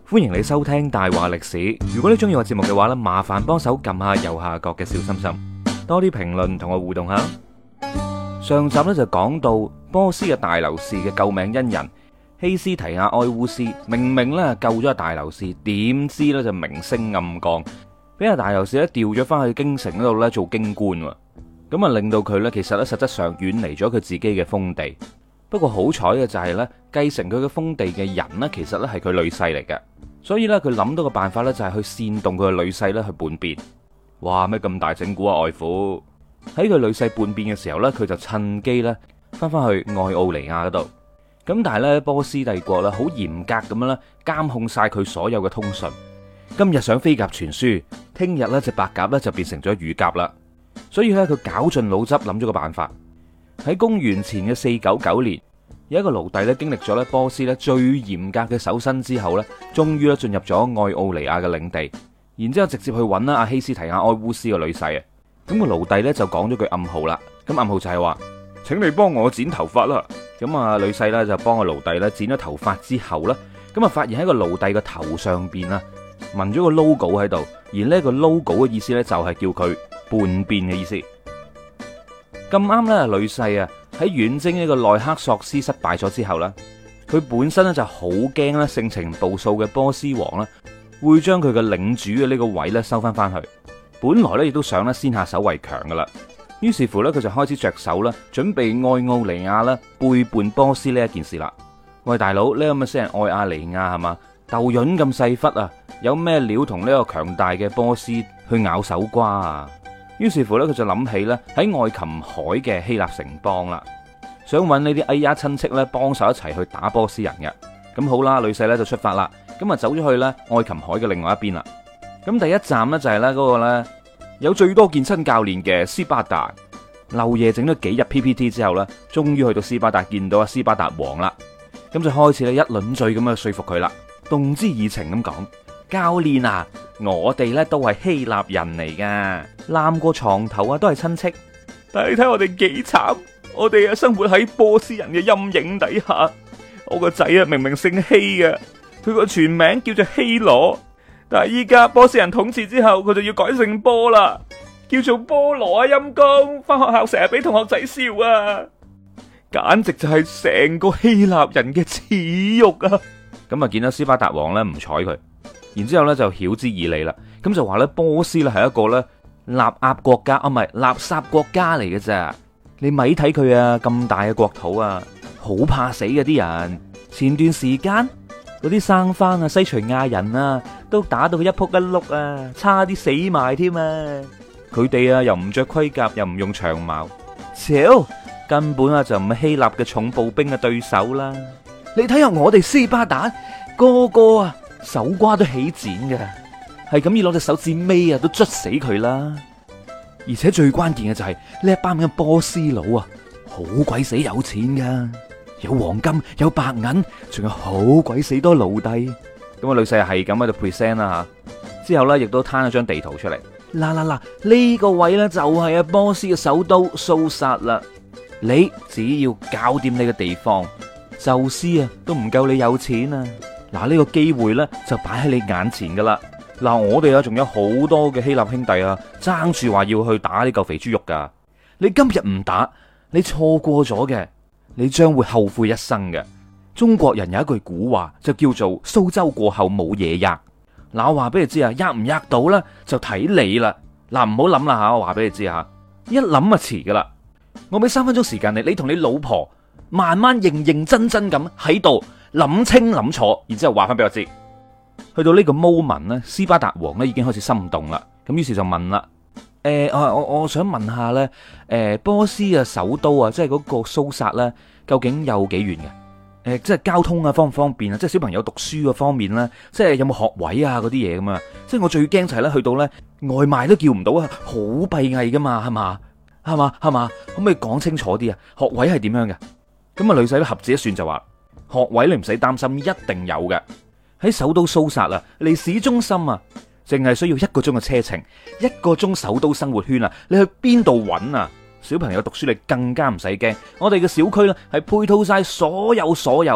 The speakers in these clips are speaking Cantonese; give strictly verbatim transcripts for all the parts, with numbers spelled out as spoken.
歡迎你收聽大話歷史。如果你中意我節目嘅話呢，麻煩幫手撳下右下角嘅小心心，多啲評論同我互動下。上集咧就講到波斯嘅大流士嘅救命恩人希斯提亞埃烏斯，明明咧救咗阿大流士，點知咧就明升暗降，俾阿大流士咧調咗翻去京城嗰度咧做京官，咁啊令到佢咧其實咧實質上遠離咗佢自己嘅封地。不過好彩嘅就係咧繼承佢嘅封地嘅人呢，其實咧係佢女婿嚟嘅，所以咧佢諗到個辦法咧就係去煽動佢嘅女婿咧去叛變。哇，咩咁大整蠱啊外父！喺佢女婿叛變嘅時候咧，佢就趁機咧翻翻去愛奧尼亞嗰度。咁但係咧波斯帝國咧好嚴格咁樣咧監控晒佢所有嘅通訊。今日想飛鴿傳書，聽日咧隻白鴿咧就變成咗乳鴿啦。所以咧佢絞盡腦汁諗咗個辦法。喺公元前嘅四九九年，有一個奴隸咧經歷咗咧波斯咧最嚴格嘅搜身之後咧，終於咧進入咗愛奧尼亞嘅領地，然之後直接去揾啦阿希斯提亞埃烏斯嘅女婿啊。咁個奴隸咧就講咗句暗號啦，咁暗號就係話，請你幫我剪頭髮啦。咁啊女婿咧就幫個奴隸咧剪咗頭髮之後咧，咁啊發現喺個奴隸嘅頭上邊啊紋咗個 logo 喺度，而呢個 logo 嘅意思咧就係叫佢叛變嘅意思。咁啱咧，女婿啊喺遠征呢個奈克索斯失敗咗之後咧，佢本身咧就好驚咧性情暴躁嘅波斯王啦，會將佢嘅領主嘅呢個位咧收翻翻去。本來咧亦都想咧先下手為強噶啦，於是乎咧佢就開始着手啦，準備愛奧尼亞啦背叛波斯呢一件事啦。喂大佬，呢咁嘅死人愛亞尼亞係嘛，豆潤咁細忽啊，有咩料同呢個強大嘅波斯去咬手瓜啊？於是乎咧，佢就諗起咧喺愛琴海嘅希臘城邦啦，想揾呢啲哎呀親戚咧幫手一齊去打波斯人嘅。咁好啦，女婿咧就出發啦，咁啊走咗去咧愛琴海嘅另外一邊啦。咁第一站咧就係咧嗰個咧有最多健身教練嘅斯巴達。漏夜整咗幾日 P P T 之後咧，終於去到斯巴達見到阿斯巴達王啦。咁就開始咧一輪嘴咁樣說服佢啦，動之以情咁講：教練啊，我哋咧都係希臘人嚟噶，攬過床頭啊都係親戚。但係你睇我哋幾慘，我哋啊生活喺波斯人嘅陰影底下。我個仔啊明明姓希嘅，佢個全名叫做希羅，但係依家波斯人統治之後，佢就要改姓波啦，叫做波羅啊陰公。翻學校成日俾同學仔笑啊，簡直就係成個希臘人嘅恥辱啊！咁啊見到斯巴達王咧唔睬佢。然之後咧就曉之以理啦，咁就話咧波斯咧係一個咧垃圾國家啊，唔係垃圾國家嚟嘅咋。你咪睇佢啊，咁大嘅國土啊，好怕死嘅啲人。前段時間嗰啲生番啊、西徐亞人啊，都打到佢一仆一碌啊，差啲死埋添啊。佢哋啊又唔着盔甲，又唔用長矛，超根本啊就唔係希臘嘅重步兵嘅對手啦。你睇下我哋斯巴達個個啊手瓜都起剪嘅，係咁要攞隻手指尾啊都捽死佢啦！而且最關鍵嘅就係呢一班嘅波斯佬啊，好鬼死有錢噶，有黃金有白銀，仲有好鬼死多奴隸。咁啊，女婿係咁喺度 present 啦吓，之後咧亦都攤咗張地圖出嚟。嗱嗱嗱，呢個位咧就係阿波斯嘅首都蘇薩啦。你只要搞掂你嘅地方，宙斯啊都唔夠你有錢啊！嗱，呢個機會呢就擺喺你眼前噶啦。嗱，我哋啊仲有好多嘅希臘兄弟啊，爭住話要去打呢嚿肥豬肉噶。你今日唔打，你錯過咗嘅，你將會後悔一生嘅。中國人有一句古話就叫做蘇州過後冇嘢吔。嗱，我話俾你知啊，吔唔吔到呢就睇你啦。嗱，唔好諗啦吓，我話俾你知吓，一諗就遲噶啦。我俾三分鐘時間你，你同你老婆慢慢認認真真咁喺度諗清諗楚，然之後話翻俾我知。去到呢個 moment 咧，斯巴達王咧已經開始心動啦。咁於是就問啦：誒、呃，我我我想問下咧，誒、呃，波斯嘅首都啊，即係嗰個蘇薩咧，究竟有幾遠嘅？誒、呃，即係交通啊，方唔方便啊？即係小朋友讀書嘅方面咧，即係有冇學位啊？嗰啲嘢咁啊？即係我最驚就係咧，去到咧外賣都叫唔到啊，好閉翳噶嘛，係嘛？係嘛？係嘛？可唔可以講清楚啲啊？學位係點樣嘅？咁啊，女仔都合指一算就話：學位你唔使擔心，一定有嘅。喺首都蘇薩啊，離市中心啊，淨係需要一個鐘嘅車程，一個鐘首都生活圈啊，你去邊度揾啊？小朋友讀書你更加唔使驚，我哋嘅小區呢係配套晒所有所有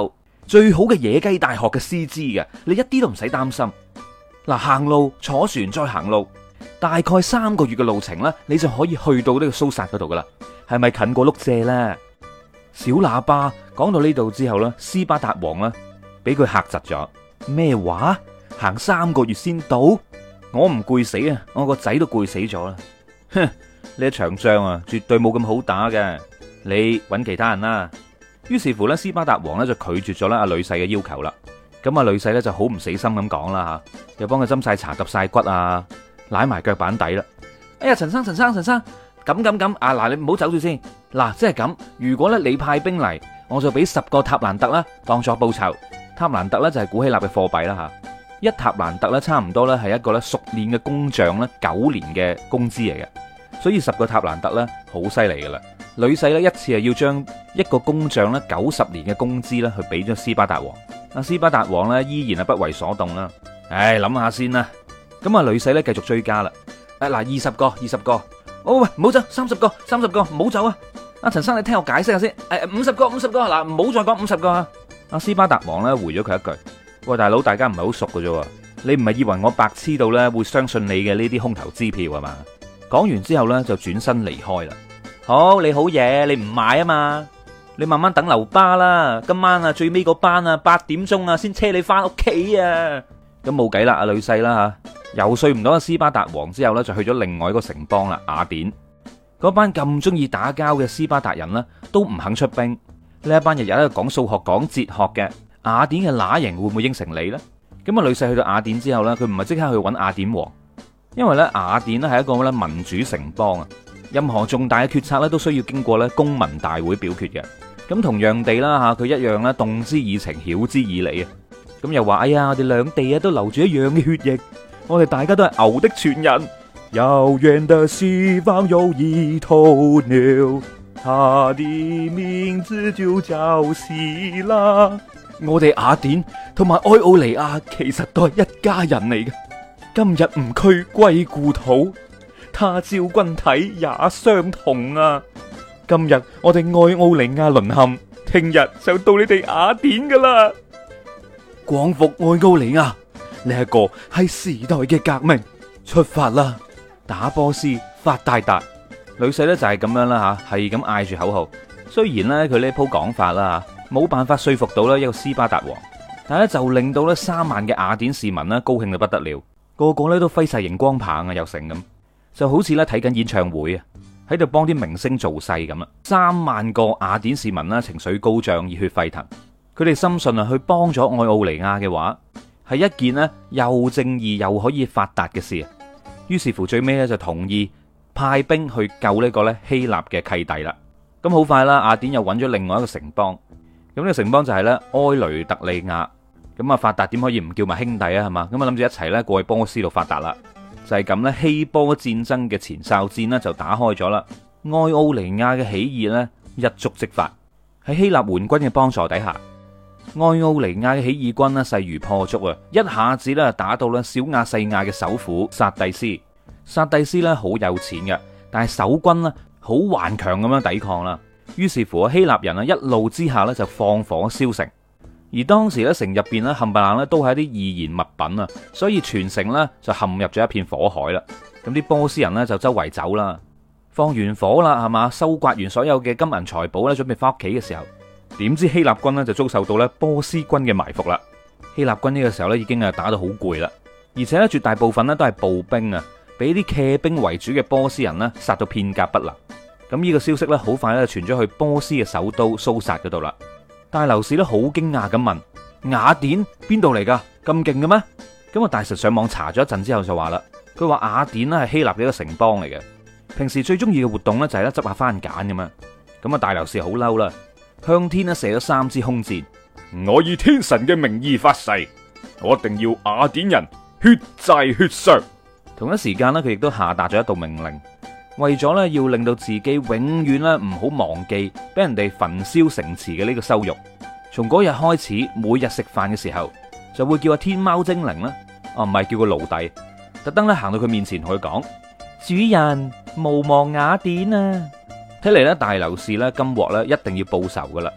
最好嘅野雞大學嘅師資嘅，你一啲都唔使擔心。嗱，行路坐船再行路，大概三個月嘅路程啦，你就可以去到呢個蘇薩嗰度噶啦。係咪近過碌蔗咧？小喇叭講到呢度之後咧，斯巴達王咧俾佢嚇窒咗。咩話？行三個月先到？我唔攰死啊！我個仔都攰死咗啦。哼，呢一場仗啊，絕對冇咁好打嘅。你揾其他人啦。於是乎咧，斯巴達王咧就拒絕咗咧阿女婿嘅要求啦。咁啊，女婿咧就好唔死心咁講啦吓，又幫佢斟晒茶、揼晒骨啊，舐埋腳板底啦。哎呀，陳生、陳生、陳生，咁咁咁啊！嗱，你唔好走住先。嗱，即係咁，如果咧你派兵嚟，我就俾十個塔蘭特啦，當作報酬。塔蘭特咧就係古希臘嘅貨幣啦吓，一塔蘭特咧差唔多咧係一個咧熟練嘅工匠咧九年嘅工資嚟嘅，所以十個塔蘭特咧好犀利噶啦。女婿咧一次係要將一個工匠咧九十年嘅工資咧去俾咗斯巴達王。阿斯巴達王咧依然係不為所動啦。唉，諗下先啦。咁啊，女婿咧繼續追加啦。誒，嗱，二十個，二十個。哦喂，唔好走，三十個，三十個，唔好走啊！阿陳生，你聽我解釋下先。誒，五十個，五十個，嗱，唔好再講五十個啊！阿斯巴達王咧回咗佢一句：喂，大佬，大家唔係好熟㗎啫，你唔係以為我白痴到咧會相信你嘅呢啲空頭支票係嘛？講完之後咧就轉身離開啦。好，你好嘢，你唔買啊嘛？你慢慢等留巴啦。今晚啊最尾個班啊八點鐘啊先車你翻屋企啊。咁冇計啦，阿女婿啦吓，游說唔到阿斯巴達王之後咧，就去咗另外一個城邦啦，雅典。嗰班咁中意打交嘅斯巴達人呢，都唔肯出兵。呢一班日日喺度講數學、講哲學嘅雅典嘅乸型會唔會應承你呢？咁啊，女婿去到雅典之後呢，佢唔係即刻去揾雅典王，因為咧雅典咧係一個咧民主城邦啊，任何重大嘅決策咧都需要經過咧公民大會表決嘅。咁同樣地啦吓，佢一樣咧動之以情，曉之以理啊。咁又話哎呀，我哋兩地啊都流住一樣嘅血液，我哋大家都係牛的傳人。遙遠的西方有一頭牛，它的名字就叫希臘。我哋雅典同埋愛奧尼亞其實都係一家人嚟嘅。今日吾軀歸故土，他朝君體也相同啊！今日我哋愛奧尼亞淪陷，聽日就到你哋雅典噶啦！光復愛奧尼亞，呢一個係時代嘅革命，出發啦！打波斯發大達。女婿咧就係咁樣啦吓，係咁嗌住口號。雖然咧佢呢鋪講法啦，冇辦法說服到咧一個斯巴達王，但係咧就令到咧三萬嘅雅典市民咧高興到不得了，個個咧都揮晒熒光棒啊，又成咁，就好似咧睇緊演唱會啊，喺度幫啲明星造勢咁啦。三萬個雅典市民啦，情緒高漲，熱血沸騰。佢哋深信啊，去幫咗愛奧尼亞嘅話，係一件咧又正義又可以發達嘅事。於是乎最尾咧就同意派兵去救呢個咧希臘嘅契弟啦。咁好快啦，雅典又揾咗另外一個城邦。咁呢個城邦就係咧埃雷特利亞。咁啊發達點可以唔叫埋兄弟啊？係嘛？咁啊諗住一齊咧過去波斯度發達啦。就係咁咧，希波戰爭嘅前哨戰呢就打開咗啦。愛奧尼亞嘅起義呢一觸即發，喺希臘援軍嘅幫助底下，愛奧尼亞嘅起義軍呢勢如破竹啊！一下子咧打到咧小亞細亞嘅首府薩蒂斯。薩蒂斯咧好有錢嘅，但係守軍呢好頑強咁樣抵抗啦。於是乎希臘人啊一怒之下咧就放火燒城。而當時咧城入邊咧冚唪唥咧都係一啲易燃物品啊，所以全城咧就陷入咗一片火海啦。咁啲波斯人咧就周圍走啦，放完火啦係嘛，收刮完所有嘅金銀財寶咧，準備翻屋企嘅時候，點知希臘軍咧就遭受到咧波斯軍嘅埋伏啦。希臘軍呢個時候咧已經係打到好攰啦，而且咧絕大部分咧都係步兵啊。俾啲騎兵為主嘅波斯人呢殺到片甲不留。咁呢個消息呢，好快咧傳咗去波斯嘅首都蘇薩嗰度啦。大流士呢，好驚訝咁問：雅典邊度嚟噶？咁勁嘅咩？咁啊大臣上網查咗一陣之後就話啦，佢話雅典呢係希臘嘅一個城邦嚟嘅，平時最中意嘅活動呢，就係咧執下番梘咁樣。咁啊大流士好嬲啦，向天呢射咗三支空箭。我以天神嘅名義發誓，我一定要雅典人血債血償。同一時間咧，佢亦都下達咗一道命令，為咗咧要令到自己永遠咧唔好忘記俾人哋焚燒城池嘅呢個羞辱。從嗰日開始，每日食飯嘅時候就會叫阿天貓精靈啦，啊唔係叫個奴隸，特登咧行到佢面前同佢講：主人，無忘雅典啊！睇嚟咧大流士咧今鑊咧一定要報仇噶啦。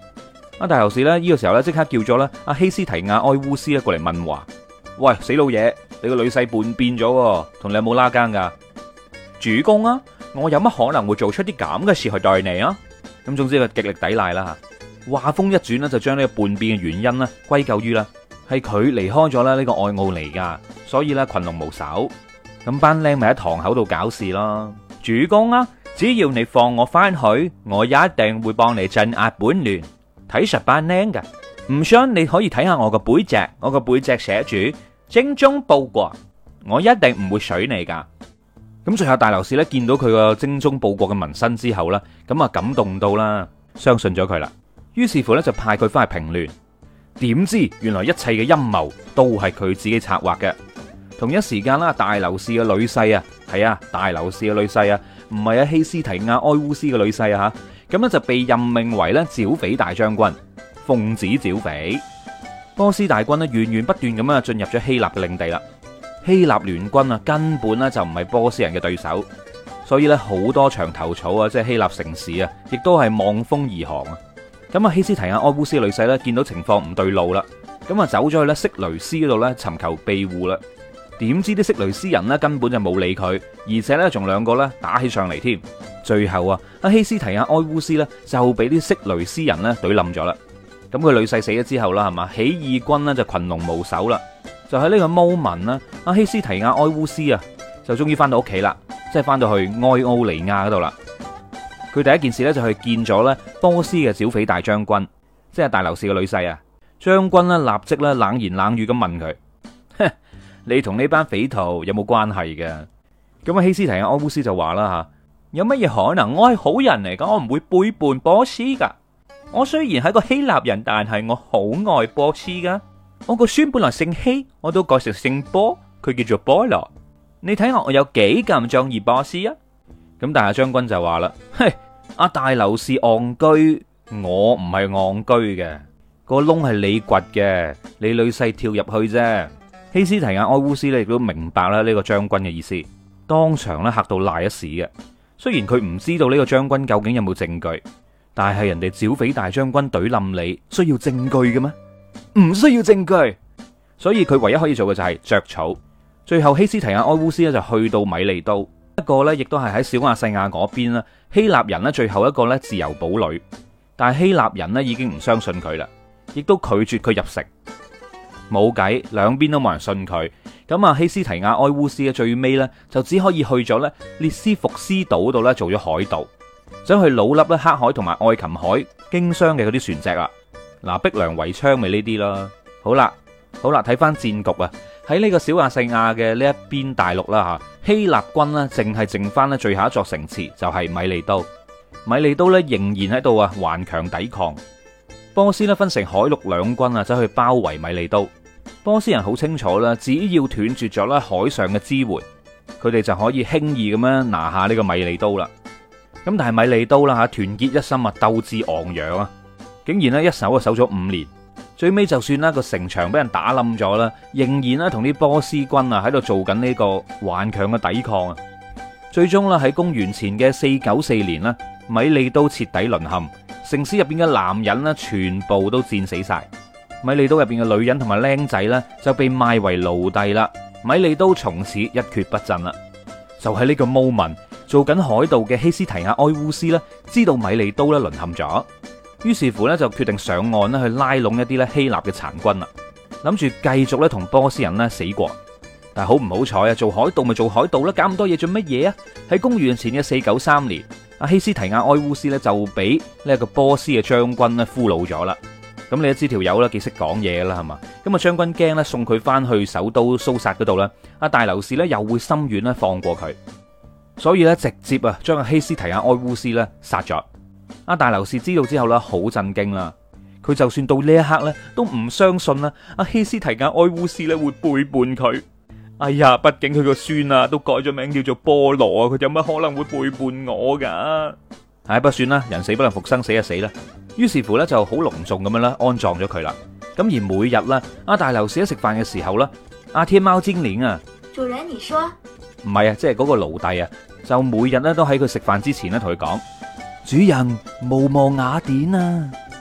阿大流士咧呢個時候咧即刻叫咗咧阿希斯提亞埃烏斯咧過嚟問話。喂，死老嘢，你個女婿叛變咗，同你有冇拉更噶？主公啊，我有乜可能會做出啲咁嘅事去對你啊？咁總之佢極力抵賴啦吓。話鋒一轉呢，就將呢個叛變嘅原因呢歸咎於啦係佢離開咗咧呢個愛奧尼亞，所以咧群龍無首。咁班僆咪喺堂口度搞事咯。主公啊，只要你放我翻去，我一定會幫你鎮壓叛亂。睇實班僆噶，唔信你可以睇下我個背脊，我個背脊寫住精忠報國，我一定唔會水你噶。咁最後大流士咧見到佢個精忠報國嘅紋身之後咧，咁啊感動到啦，相信咗佢啦。於是乎咧就派佢翻去平亂。點知原來一切嘅陰謀都係佢自己策劃嘅。同一時間啦，大流士嘅女婿啊，係啊，大流士嘅女婿啊，唔係啊希斯提亞埃烏斯嘅女婿啊吓，咁咧就被任命為咧剿匪大將軍，奉旨剿匪。波斯大軍咧源源不斷咁樣進入咗希臘嘅領地啦。希臘聯軍啊根本咧就唔係波斯人嘅對手，所以咧好多牆頭草啊，即係希臘城市啊，亦都係望風而降啊。咁啊希斯提亞埃烏斯嘅女婿咧見到情況唔對路啦，咁啊走咗去咧色雷斯嗰度咧尋求庇護啦。點知啲色雷斯人咧根本就冇理佢，而且咧仲兩個咧打起上嚟添。最後啊，阿希斯提亞埃烏斯咧就俾啲色雷斯人咧懟冧咗啦。咁佢女婿死咗之後啦，係嘛，起義軍咧就群龍無首啦。就喺呢個 moment 啦，阿希斯提亞埃烏斯啊就終於翻到屋企啦，即係翻到去埃奧尼亞嗰度啦。佢第一件事咧就去見咗咧波斯嘅剿匪大將軍，即係大流士嘅女婿啊。將軍咧立即咧冷言冷語咁問佢。你同呢班匪徒有冇關係嘅？咁啊，希斯提亞埃烏斯就話啦吓，有乜嘢可能？我係好人嚟噶，我唔會背叛波斯噶。我雖然係個希臘人，但係我好愛波斯噶。我個孫本來姓希，我都改成姓波，佢叫做波羅。你睇下我有幾咁中意波斯啊？咁但係將軍就話啦，嘿，阿大流士戇居，我唔係戇居嘅，個窿係你掘嘅，你女婿跳入去啫。希斯提亞埃烏斯咧亦都明白啦呢個將軍嘅意思，當場咧嚇到賴一屎嘅。雖然佢唔知道呢個將軍究竟有冇證據，但係人哋剿匪大將軍懟冧你，需要證據嘅咩？唔需要證據，所以佢唯一可以做嘅就係着草。最後希斯提亞埃烏斯咧就去到米利都，一個咧亦都係喺小亞細亞嗰邊啦。希臘人咧最後一個咧自由堡壘，但係希臘人咧已經唔相信佢啦，亦都拒絕佢入城。冇計，兩邊都冇人信佢，咁啊希斯提亞埃烏斯嘅最尾呢，就只可以去咗咧列斯福斯島度咧做咗海盜，想去老笠咧黑海同埋愛琴海經商嘅嗰啲船隻啊。嗱，逼良為娼咪呢啲啦。好啦，好啦，睇翻戰局啊，喺呢個小亞細亞嘅呢一邊大陸啦吓，希臘軍呢淨係剩翻咧最後一座城池，就係米利都。米利都咧仍然喺度啊頑強抵抗。波斯咧分成海陸兩軍啊，走去包圍米利都。波斯人好清楚啦，只要斷絕咗咧海上嘅支援，佢哋就可以輕易咁樣拿下呢個米利都啦。咁但係米利都啦吓，團結一心啊，鬥志昂揚啊，竟然咧一守啊守咗五年，最尾就算啦個城牆俾人打冧咗啦，仍然咧同啲波斯軍啊喺度做緊呢個頑強嘅抵抗啊。最終啦喺公元前嘅四九四年啦，米利都徹底淪陷，城市入邊嘅男人咧全部都戰死晒。米利都入邊嘅女人同埋僆仔呢，就被賣為奴隸啦。米利都從此一蹶不振啦。就喺呢個 moment， 做緊海盜嘅希斯提亞埃烏斯呢，知道米利都咧淪陷咗，於是乎呢，就決定上岸咧去拉攏一啲咧希臘嘅殘軍啦，諗住繼續咧同波斯人咧死過。但係好唔好彩啊？做海盜咪做海盜啦，搞咁多嘢做乜嘢啊？喺公元前嘅四九三年，阿希斯提亞埃烏斯呢，就俾呢一個波斯嘅將軍咧俘虜咗啦。咁你都知條友啦，幾識講嘢啦，係嘛？咁啊，將軍驚咧，送佢翻去首都蘇薩嗰度啦。阿大流士咧又會心軟咧放過佢，所以咧直接啊將阿希斯提亞埃烏斯咧殺咗。阿大流士知道之後咧好震驚啦，佢就算到呢一刻咧都唔相信啦，阿希斯提亞埃烏斯咧會背叛佢。哎呀，畢竟佢個孫啊都改咗名叫做波羅啊，佢有乜可能會背叛我噶？唉，不算啦，人死不能復生，死就死啦。於是乎咧就好隆重咁樣啦安葬咗佢啦。咁而每日咧阿大流士喺食飯嘅時候咧，阿天貓精靈啊， 主人你說唔係啊，即係嗰個奴隸啊，就每日咧都喺佢食飯之前咧同佢講，主人無望雅典啊。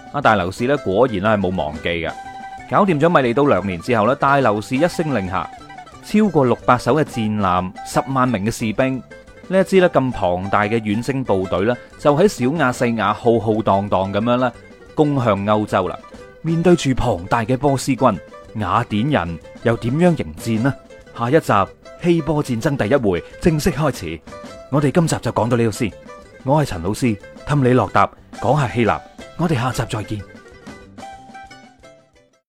阿大流士咧果然咧係冇忘記嘅，搞掂咗米利都兩年之後咧，大流士一聲令下，超過六百艘嘅戰艦，十萬名嘅士兵，呢一支咧咁龐大嘅遠征部隊咧，就喺小亞細亞浩浩蕩蕩咁樣咧攻向歐洲啦。面對住龐大嘅波斯軍，雅典人又點樣迎戰呢？下一集希波戰爭第一回正式開始，我哋今集就講到呢度先。我係陳老師，氹你落答講下希臘，我哋下集再見。